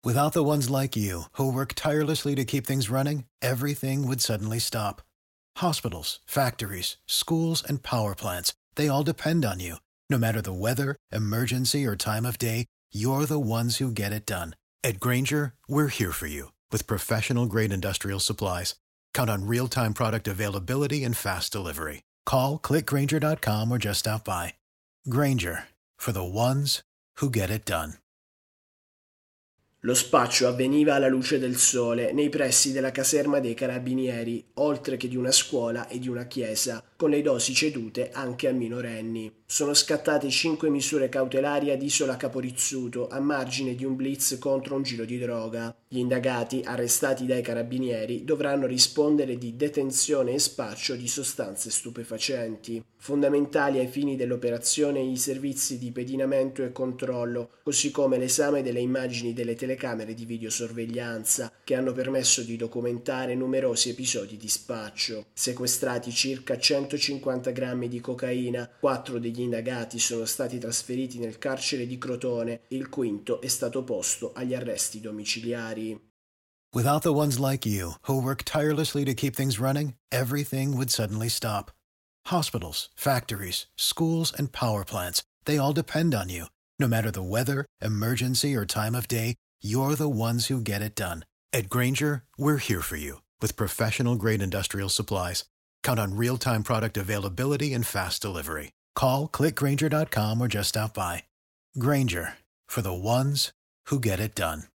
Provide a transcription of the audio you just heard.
Without the ones like you, who work tirelessly to keep things running, everything would suddenly stop. Hospitals, factories, schools, and power plants, they all depend on you. No matter the weather, emergency, or time of day, you're the ones who get it done. At Grainger, we're here for you with professional-grade industrial supplies. Count on real-time product availability and fast delivery. Call, click Grainger.com, or just stop by. Grainger, for the ones who get it done. Lo spaccio avveniva alla luce del sole nei pressi della caserma dei carabinieri, oltre che di una scuola e di una chiesa, con le dosi cedute anche a minorenni. Sono scattate 5 misure cautelari ad Isola Caporizzuto a margine di un blitz contro un giro di droga. Gli indagati, arrestati dai carabinieri, dovranno rispondere di detenzione e spaccio di sostanze stupefacenti. Fondamentali ai fini dell'operazione i servizi di pedinamento e controllo, così come l'esame delle immagini delle telecamere di videosorveglianza che hanno permesso di documentare numerosi episodi di spaccio. Sequestrati circa 150 grammi di cocaina, 4 degli indagati sono stati trasferiti nel carcere di Crotone, il quinto è stato posto agli arresti domiciliari. Without the ones like you, who work tirelessly to keep things running, everything would suddenly stop. Hospitals, factories, schools, and power plants, they all depend on you. No matter the weather, emergency, or time of day, you're the ones who get it done. At Grainger, we're here for you with professional-grade industrial supplies. Count on real-time product availability and fast delivery. Call, click Grainger.com, or just stop by. Grainger, for the ones who get it done.